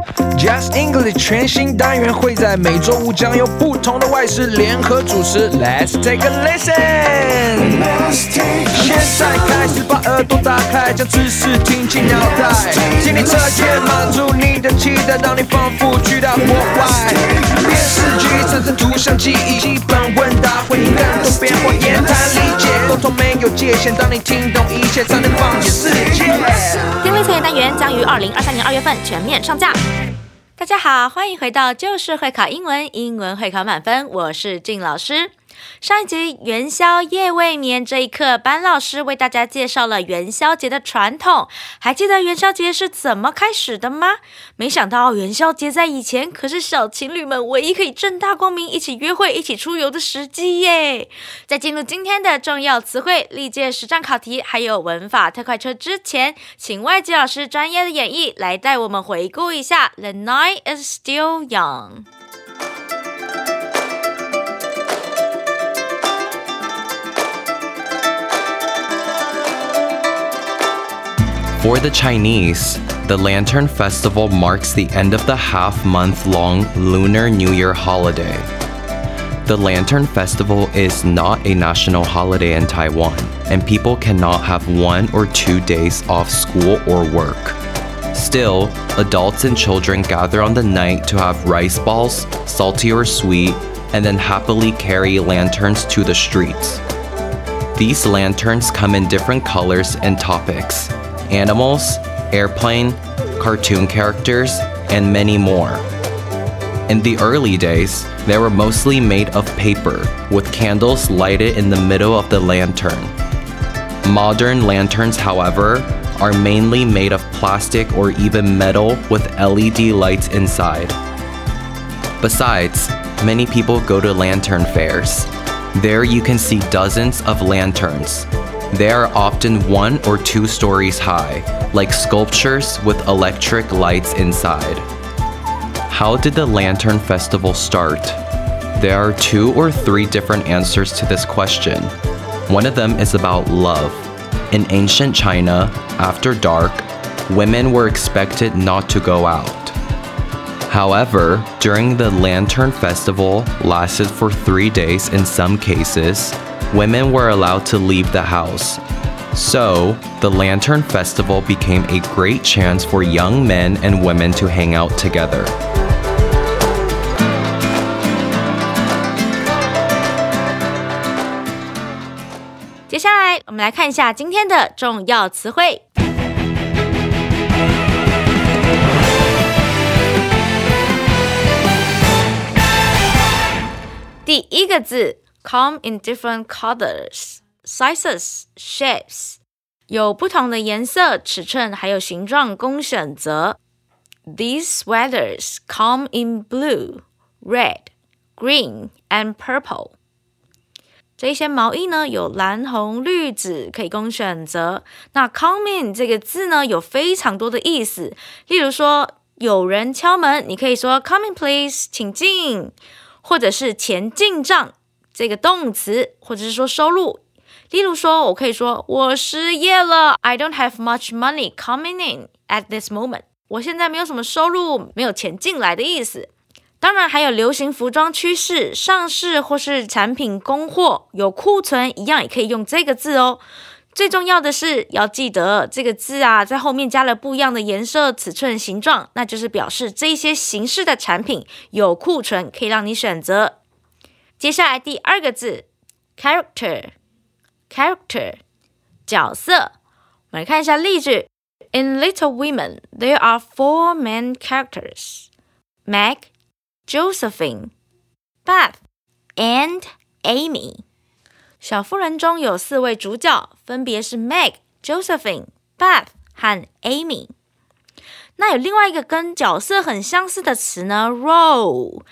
Just English 全新单元会在每周五将有不同的外师联合主持。Let's take a listen。现在开始把耳朵打开，将知识听进脑袋，听力测验满足你的期待，让你仿佛去到国外。电视剧产生图像记忆，基本问答会更多变化，言谈理解沟通没有界限，当你听懂一切，才能放眼世界。 听力测验单元将于2023年2月份全面上架。大家好，欢迎回到就是会考英文，英文会考满分，我是静老师。上一集元宵夜未眠这一课，班老师为大家介绍了元宵节的传统。还记得元宵节是怎么开始的吗？没想到元宵节在以前可是小情侣们唯一可以正大光明一起约会、一起出游的时机耶。在进入今天的重要词汇、历届实战考题还有文法特快车之前，请外籍老师专业的演绎来带我们回顾一下 The night is still young。For the Chinese, the Lantern Festival marks the end of the half-month-long Lunar New Year holiday. The Lantern Festival is not a national holiday in Taiwan, and people cannot have 1 or 2 days off school or work. Still, adults and children gather on the night to have rice balls, salty or sweet, and then happily carry lanterns to the streets. These lanterns come in different colors and topics.Animals, airplane, cartoon characters, and many more. In the early days, they were mostly made of paper, with candles lighted in the middle of the lantern. Modern lanterns, however, are mainly made of plastic or even metal with LED lights inside. Besides, many people go to lantern fairs. There you can see dozens of lanterns.They are often 1 or 2 stories high, like sculptures with electric lights inside. How did the Lantern Festival start? There are 2 or 3 different answers to this question. One of them is about love. In ancient China, after dark, women were expected not to go out.However, during the Lantern Festival lasted for 3 days in some cases, women were allowed to leave the house. So, the Lantern Festival became a great chance for young men and women to hang out together. 接下来，我们来看一下今天的重要词汇。第一个字 come in different colors, sizes, shapes 有不同的颜色、尺寸还有形状供选择。These sweaters come in blue, red, green, and purple 这些毛衣呢有蓝、红、绿、紫可以供选择。那 come in 这个字呢有非常多的意思，例如说有人敲门，你可以说 come in please 请进，或者是钱进账这个动词，或者是说收入。例如说我可以说我失业了 I don't have much money coming in at this moment 我现在没有什么收入，没有钱进来的意思。当然还有流行服装趋势、上市或是产品供货有库存一样也可以用这个字哦。最重要的是要记得这个字啊，在后面加了不一样的颜色、尺寸、形状，那就是表示这些形式的产品有库存，可以让你选择。接下来第二个字 character 角色。我们来看一下例句。In Little Women, there are 4 main characters. Meg, Josephine, Beth, and Amy. 小妇人中有4位主角，分别是 Meg, Josephine, Beth 和 Amy。那有另外一个跟角色很相似的词呢 role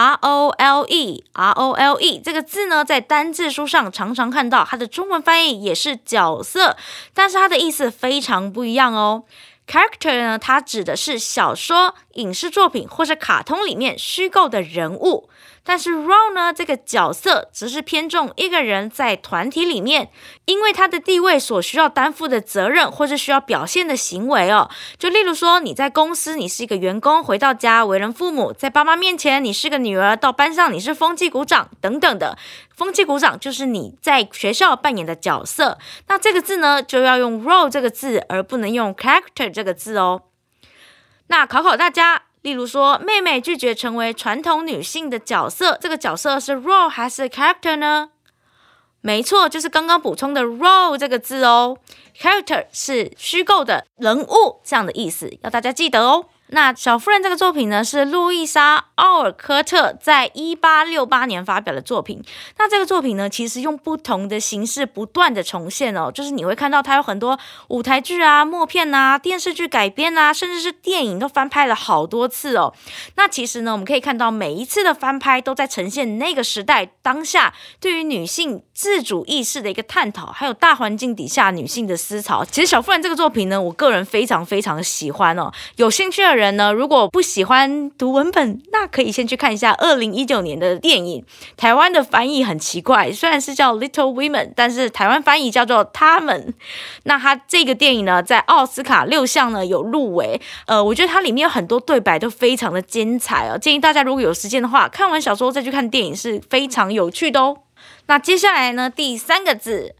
R-O-L-E 这个字呢在单字书上常常看到，它的中文翻译也是角色，但是它的意思非常不一样哦。Character 呢，它指的是小说、影视作品或是卡通里面虚构的人物， 但是 role 呢，这个角色只是偏重一个人在团体里面，因为他的地位所需要担负的责任或是需要表现的行为哦。就例如说你在公司你是一个员工，回到家为人父母，在爸妈面前你是个女儿，到班上你是风纪股长等等的。风纪股长就是你在学校扮演的角色，那这个字呢就要用 role 这个字，而不能用 character 这个字哦。那考大家，例如说妹妹拒绝成为传统女性的角色，这个角色是 role 还是 character 呢？没错，就是刚刚补充的 role 这个字哦。character 是虚构的人物这样的意思，要大家记得哦。那小妇人这个作品呢，是路易莎·奥尔科特在1868年发表的作品。那这个作品呢，其实用不同的形式不断的重现哦，就是你会看到它有很多舞台剧啊、默片啊、电视剧改编啊，甚至是电影都翻拍了好多次哦。那其实呢，我们可以看到每一次的翻拍都在呈现那个时代当下对于女性自主意识的一个探讨，还有大环境底下女性的思潮。其实小妇人这个作品呢，我个人非常非常喜欢哦。有兴趣的人呢，如果不喜欢读文本，那可以先去看一下2019年的电影。台湾的翻译很奇怪，虽然是叫 Little Women， 但是台湾翻译叫做她们。那它这个电影呢，在奥斯卡6项呢有入围。我觉得它里面有很多对白都非常的精彩哦。建议大家如果有时间的话，看完小说再去看电影是非常有趣的哦。那接下来呢，第3个字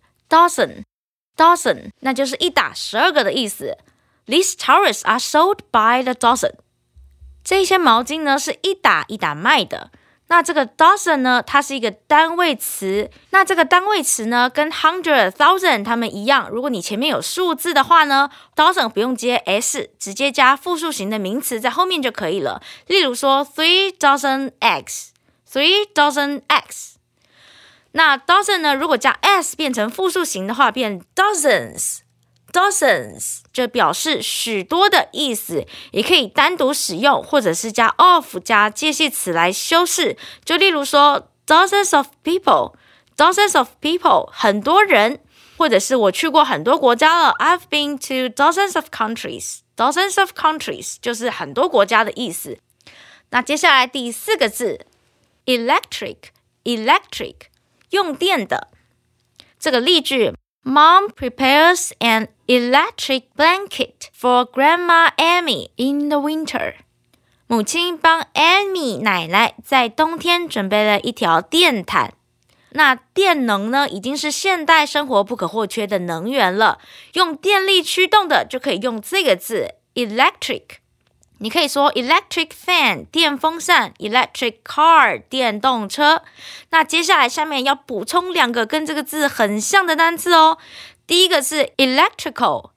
dozen， 那就是一打12个的意思。These towels are sold by the dozen。 这些毛巾呢是一打一打卖的。那这个 dozen 呢，它是一个单位词。那这个单位词呢，跟 hundred、thousand 它们一样，如果你前面有数字的话呢， dozen 不用接 s， 直接加复数型的名词在后面就可以了。例如说 3 dozen eggs，3 dozen eggs。那 dozen 呢，如果加 s 变成复数型的话，变 dozens， 就表示许多的意思，也可以单独使用，或者是加 of 加介系词来修饰。就例如说 dozens of people， 很多人，或者是我去过很多国家了， I've been to dozens of countries， 就是很多国家的意思。那接下来第4个字 electric， 用电的。这个例句 Mom prepares an electric blanket for Grandma Amy in the winter。 母亲帮 Amy 奶奶在冬天准备了一条电毯。那电能呢，已经是现代生活不可或缺的能源了，用电力驱动的就可以用这个字 electric。你可以说 electric fan 电风扇， electric car 电动车。那接下来下面要补充2个跟这个字很像的单词哦。第一个是 electrical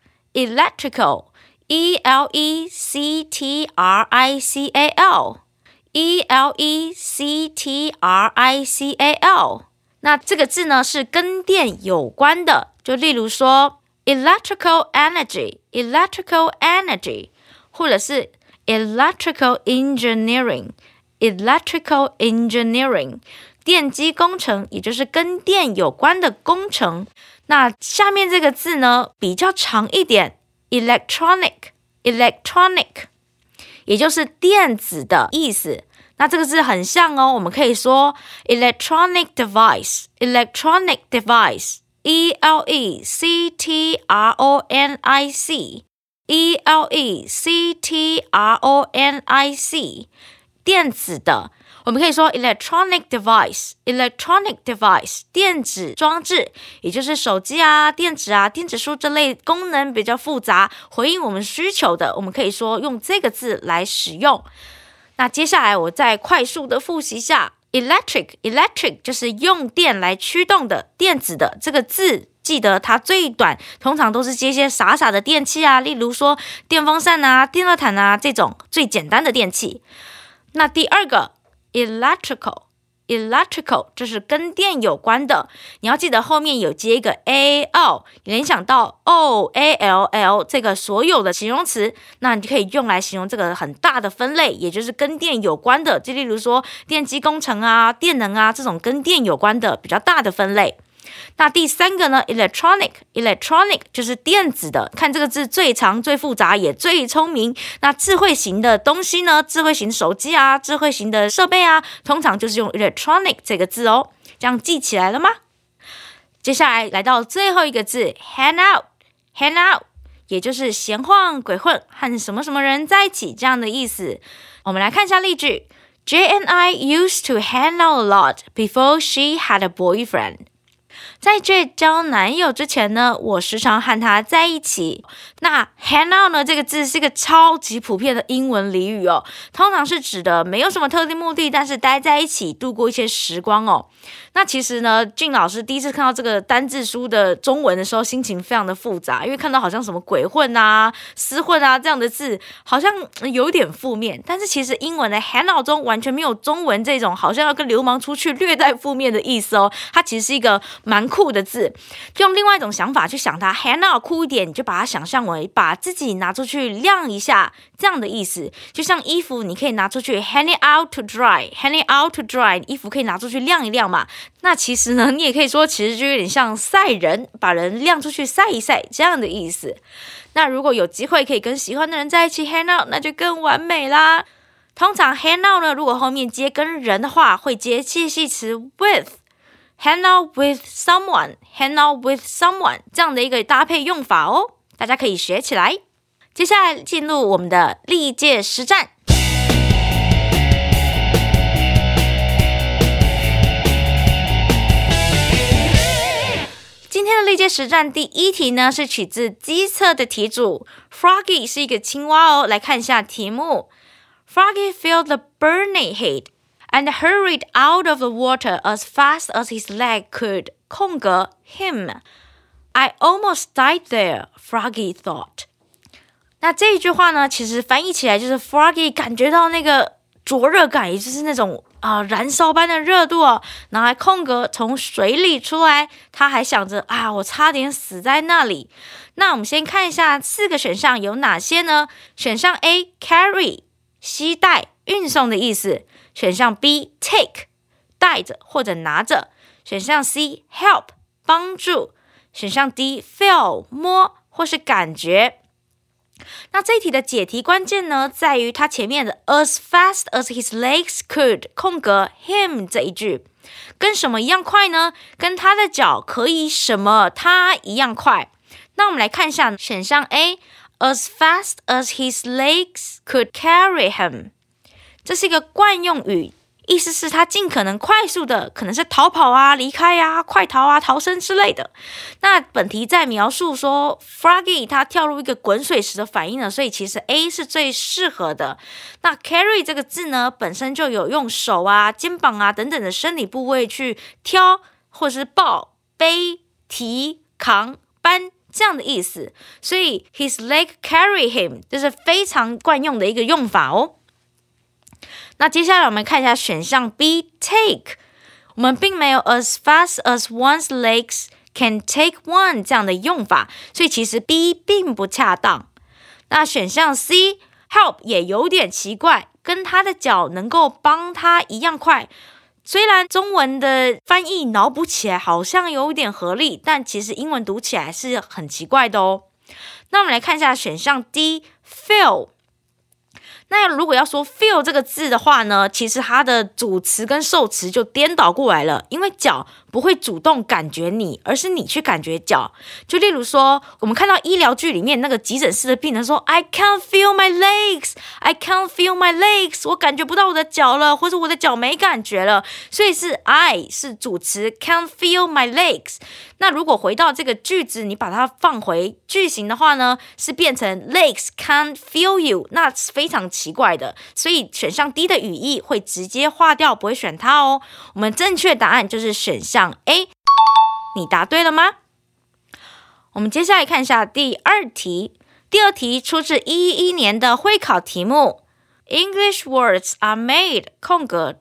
electrical。 那这个字呢是跟电有关的，就例如说 electrical energy， 或者是electrical engineering， 电机工程，也就是跟电有关的工程。那下面这个字呢比较长一点 electronic， 也就是电子的意思。那这个字很像哦，我们可以说 electronic device， electronic， 电子的。我们可以说 electronic device， 电子装置，也就是手机啊、电子啊、电子书这类功能比较复杂，回应我们需求的，我们可以说用这个字来使用。那接下来我再快速的复习一下 electric 就是用电来驱动的，电子的这个字记得它最短通常都是接一些傻傻的电器啊，例如说电风扇啊、电热毯啊这种最简单的电器。那第2个 electrical 就是跟电有关的，你要记得后面有接一个 al， 联想到 all 这个所有的形容词，那你就可以用来形容这个很大的分类，也就是跟电有关的，就例如说电机工程啊、电能啊这种跟电有关的比较大的分类。 那第3个呢 electronic 就是电子的，看这个字最长最复杂也最聪明。那智慧型的东西呢，智慧型手机啊，智慧型的设备啊，通常就是用 electronic 这个字哦。这样记起来了吗？接下来来到最后一个字 hang out， 也就是闲晃鬼混，和什么什么人在一起这样的意思。我们来看一下例句。Jay and I used to hang out a lot before she had a boyfriend. 在 Jay 交男友之前呢，我时常和他在一起。那 hang out 呢，这个字是一个超级普遍的英文俚语哦，通常是指的没有什么特定目的，但是待在一起度过一些时光哦。那其实呢，俊老师第一次看到这个单字书的中文的时候，心情非常的复杂，因为看到好像什么鬼混啊、厮混啊这样的字，好像有点负面。但是其实英文的 hang out 中完全没有中文这种好像要跟流氓出去略带负面的意思哦，它其实是一个蛮酷的字。用另外一种想法去想它 hang out 酷一点，你就把它想象为把自己拿出去晾一下这样的意思。就像衣服你可以拿出去 hang it out to dry， 衣服可以拿出去晾一晾嘛。那其实呢，你也可以说其实就有点像晒人，把人晾出去晒一晒这样的意思。那如果有机会可以跟喜欢的人在一起 hang out， 那就更完美啦。通常 hang out 呢，如果后面接跟人的话，会接介系词 with。Hang out with someone 这样的一个搭配用法哦，大家可以学起来。接下来进入我们的历届实战。今天的历届实战第1题呢，是取自机测的题组 Froggy 是一个青蛙哦。来看一下题目 Froggy felt the burning heat.And hurried out of the water as fast as his leg could. 空格 him. I almost died there, Froggy thought. 那这一句话呢，其实翻译起来就是 Froggy 感觉到那个灼热感，也就是那种燃烧般的热度哦。然后空格从水里出来，他还想着我差点死在那里。那我们先看一下4个选项有哪些呢？选项 A carry 携带运送的意思。选项 B take 带着或者拿着，选项 C help 帮助，选项 D feel 摸或是感觉。那这一题的解题关键呢，在于它前面的 as fast as his legs could 空格 him 这一句，跟什么一样快呢？跟他的脚可以什么他一样快。那我们来看一下选项 A as fast as his legs could carry him，这是一个惯用语，意思是他尽可能快速的，可能是逃跑啊、离开啊、快逃啊、逃生之类的。那本题在描述说 Froggy 他跳入一个滚水池的反应呢，所以其实 A 是最适合的。那 carry 这个字呢，本身就有用手啊、肩膀啊等等的生理部位去挑或是抱、背、提、扛、搬这样的意思，所以 his leg carry him 这是非常惯用的一个用法哦。那接下来我们看一下选项 B take， 我们并没有 as fast as one's legs can take one 这样的用法，所以其实 B 并不恰当。那选项 C help 也有点奇怪，跟他的脚能够帮他一样快，虽然中文的翻译脑补起来好像有点合理，但其实英文读起来是很奇怪的哦。那我们来看一下选项 D feel，那如果要说 feel 这个字的话呢，其实它的主词跟受词就颠倒过来了，因为脚不会主动感觉你，而是你去感觉脚。就例如说，我们看到医疗剧里面那个急诊室的病人说 I can't feel my legs， I can't feel my legs， 我感觉不到我的脚了，或者我的脚没感觉了，所以是 I 是主词 can't feel my legs。那如果回到这个句子，你把它放回句型的话呢，是变成 legs can't feel you， 那是非常奇怪的，所以选项 D 的语义会直接划掉，不会选它哦。我们正确答案就是选项 A， 你答对了吗？我们接下来看一下第二题。第二题出自111年的会考题目 English words are made 空格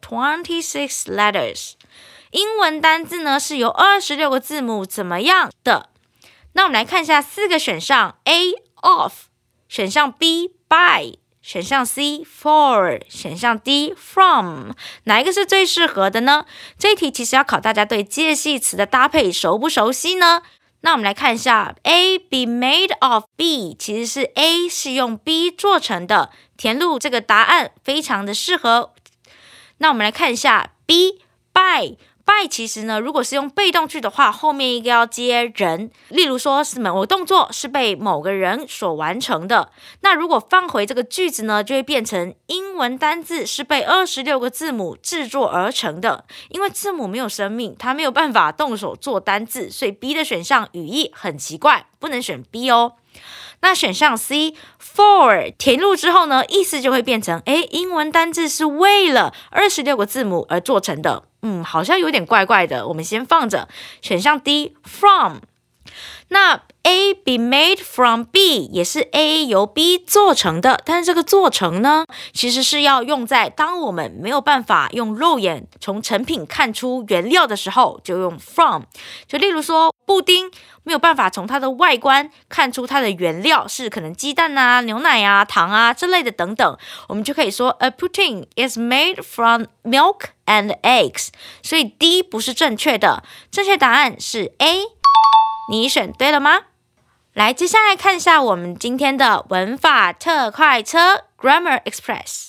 26 letters， 英文单字呢是由26个字母怎么样的？那我们来看一下4个选项 A of， 选项 B by， 选项 C for， 选项 D from， 哪一个是最适合的呢？这一题其实要考大家对介系词的搭配熟不熟悉呢？那我们来看一下 A be made of B， 其实是 A 是用 B 做成的，填入这个答案非常的适合。那我们来看一下 B by其实呢，如果是用被动句的话，后面应该要接人，例如说是某个动作是被某个人所完成的。那如果放回这个句子呢，就会变成英文单字是被26个字母制作而成的。因为字母没有生命，它没有办法动手做单字，所以 B 的选项语义很奇怪，不能选 B 哦。那选项 C for 填入之后呢，意思就会变成英文单字是为了26个字母而做成的，好像有点怪怪的，我们先放着。选项 D from， 那 A be made from B 也是 A 由 B 做成的，但是这个做成呢，其实是要用在当我们没有办法用肉眼从成品看出原料的时候，就用 from。 就例如说布丁没有办法从它的外观看出它的原料是可能鸡蛋啊、牛奶啊、糖啊之类的等等，我们就可以说 A pudding is made from milk and eggs。 所以 D 不是正确的，正确答案是 A。 你选对了吗？来，接下来看一下我们今天的文法特快车 Grammar Express。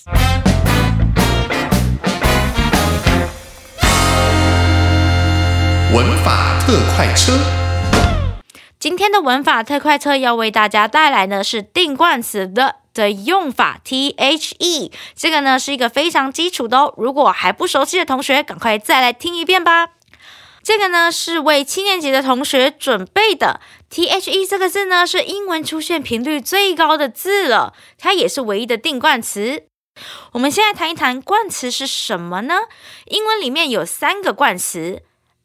文法特快车， 今天的文法特快车要为大家带来的是定冠词的用法 THE， 这个呢是一个非常基础的哦，如果还不熟悉的同学赶快再来听一遍吧。这个呢是为7年级的同学准备的。 THE 这个字呢是英文出现频率最高的字了，它也是唯一的定冠词。我们现在谈一谈冠词是什么呢？英文里面有3个冠词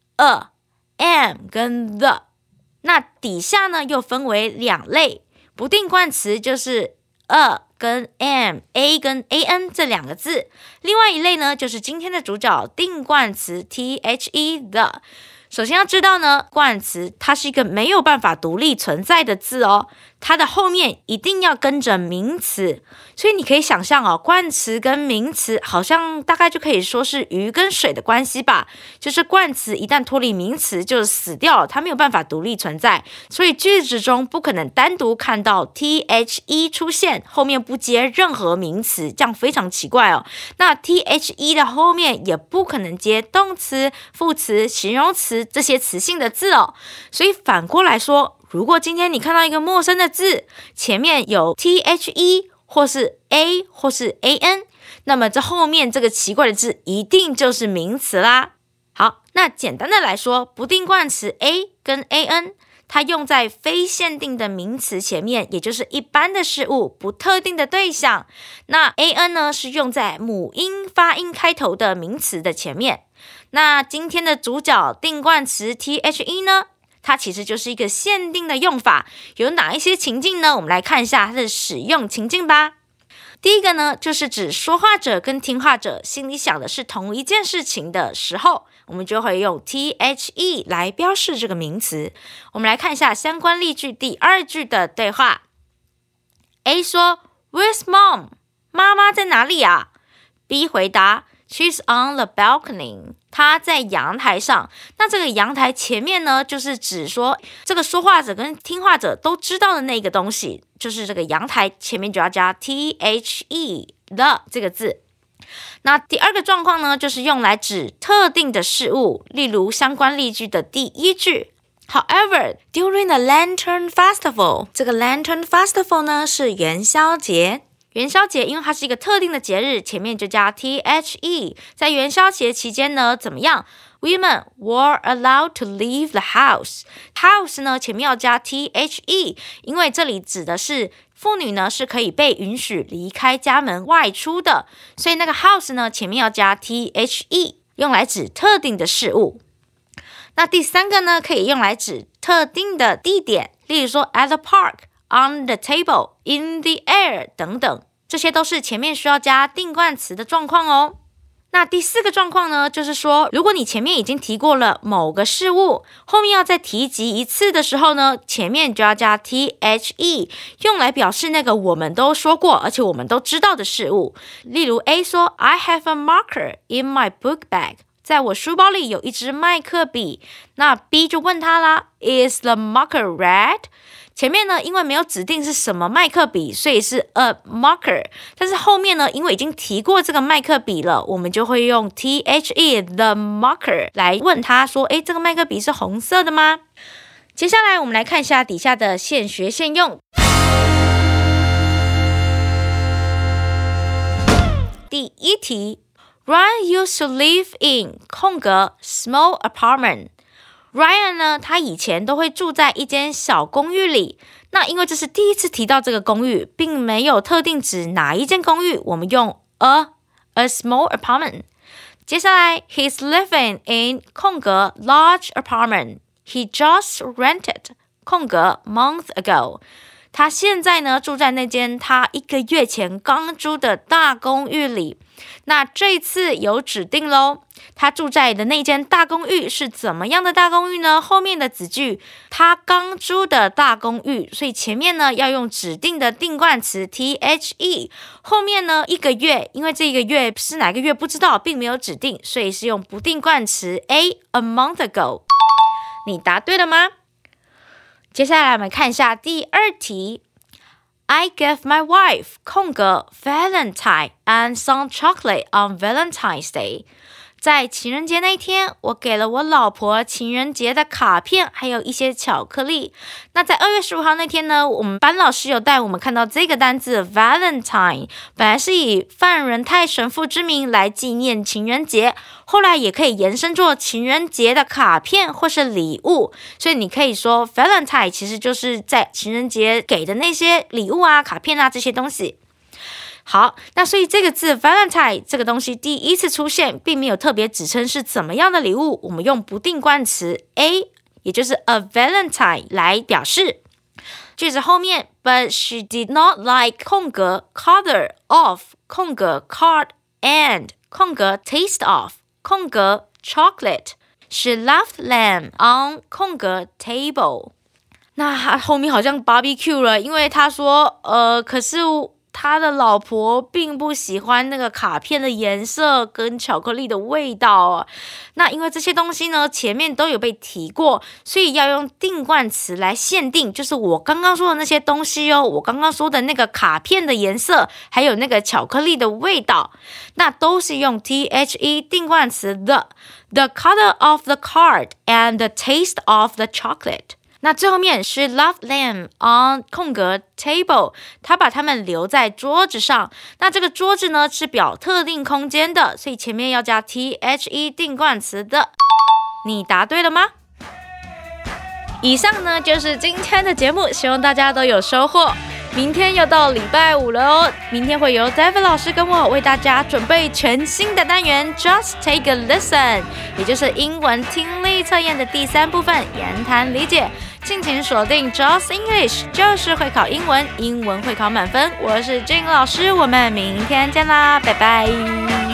a、am 跟 the， 那底下呢又分为2类，不定冠词就是 a 跟 am A 跟 an 这2个字，另外一类呢就是今天的主角定冠词 THE the。首先要知道呢，冠词它是一个没有办法独立存在的字哦，它的后面一定要跟着名词，所以你可以想象哦，冠词跟名词好像大概就可以说是鱼跟水的关系吧，就是冠词一旦脱离名词就死掉了，它没有办法独立存在，所以句子中不可能单独看到 THE 出现，后面不接任何名词，这样非常奇怪哦。那 THE 的后面也不可能接动词、副词、形容词这些词性的字哦，所以反过来说，如果今天你看到一个陌生的字，前面有 THE 或是 A 或是 AN， 那么这后面这个奇怪的字一定就是名词啦。好，那简单的来说，不定冠词 A 跟 AN， 它用在非限定的名词前面，也就是一般的事物，不特定的对象。那 AN 呢，是用在母音发音开头的名词的前面。那今天的主角定冠词 THE 呢，它其实就是一个限定的用法，有哪一些情境呢？我们来看一下它的使用情境吧。第一个呢，就是指说话者跟听话者心里想的是同一件事情的时候，我们就会用 THE 来标示这个名词。我们来看一下相关例句第2句的对话。A 说 Where's mom？ 妈妈在哪里啊？ B 回答She's on the balcony， 她在阳台上。那这个阳台前面呢，就是指说这个说话者跟听话者都知道的那个东西，就是这个阳台前面就要加 THE 的这个字。那第2个状况呢，就是用来指特定的事物，例如相关例句的第1句。However, during the Lantern Festival， 这个 Lantern Festival 呢是元宵节。元宵节因为它是一个特定的节日，前面就加 THE。 在元宵节期间呢，怎么样？ Women were allowed to leave the house。 House 呢前面要加 THE， 因为这里指的是妇女呢是可以被允许离开家门外出的，所以那个 house 呢前面要加 THE， 用来指特定的事物。那第3个呢，可以用来指特定的地点，例如说 at the park、on the table、in the air 等等，这些都是前面需要加定冠词的状况哦。 那第4个状况呢，就是说如果你前面已经提过了某个事物，后面要再提及一次的时候呢，前面就要加 THE， 用来表示那个我们都说过而且我们都知道的事物。例如 A 说 I have a marker in my book bag， 在我书包里有一支麦克笔。那 B 就问他啦 Is the marker red？前面呢，因为没有指定是什么麦克笔，所以是 a marker。但是后面呢，因为已经提过这个麦克笔了，我们就会用 THE the marker 来问他说，这个麦克笔是红色的吗？接下来我们来看一下底下的现学现用。第1题 Ryan used to live in 空格 small apartment。Ryan 呢，他以前都会住在一间小公寓里。那因为这是第一次提到这个公寓，并没有特定指哪一间公寓，我们用 a small apartment。接下来 He's living in 空格 large apartment. He just rented 空格 month ago。他现在呢住在那间他1个月前刚租的大公寓里。那这次有指定咯，他住在的那间大公寓是怎么样的大公寓呢？后面的子句他刚租的大公寓，所以前面呢要用指定的定冠词 THE， 后面呢1个月，因为这个月是哪个月不知道，并没有指定，所以是用不定冠词 a month ago。 你答对了吗？接下来我们看一下第2题。I gave my wife 空格 Valentine and some chocolate on Valentine's Day。 在情人节那一天，我给了我老婆情人节的卡片，还有一些巧克力。那在2月15号那天呢，我们班老师有带我们看到这个单字 Valentine， 本来是以范仁泰神父之名来纪念情人节，后来也可以延伸做情人节的卡片或是礼物，所以你可以说 Valentine 其实就是在情人节给的那些礼物啊、卡片啊这些东西。好，那所以这个字 Valentine 这个东西第一次出现，并没有特别指称是怎么样的礼物，我们用不定冠词 a， 也就是 a Valentine 来表示。句子后面 But she did not like 空格 color of 空格 card and 空格 taste of 空格 chocolate。 She left them on 空格 table。 那后面好像 barbecue 了，因为他说可是他的老婆并不喜欢那个卡片的颜色跟巧克力的味道啊。那因为这些东西呢前面都有被提过，所以要用定冠词来限定，就是我刚刚说的那些东西哦，我刚刚说的那个卡片的颜色还有那个巧克力的味道，那都是用 THE 定冠词 the color of the card and the taste of the chocolate。那最后面是 left them on 空格 table， 他把他们留在桌子上。那这个桌子呢是表特定空间的，所以前面要加 THE 定冠词的。你答对了吗？以上呢就是今天的节目，希望大家都有收获。明天又到礼拜5了哦，明天会由 David 老师跟我为大家准备全新的单元 Just Take a Listen， 也就是英文听力测验的第3部分言谈理解。敬请锁定 Just English， 就是会考英文，英文会考满分。我是 Jane 老师，我们明天见啦，拜拜。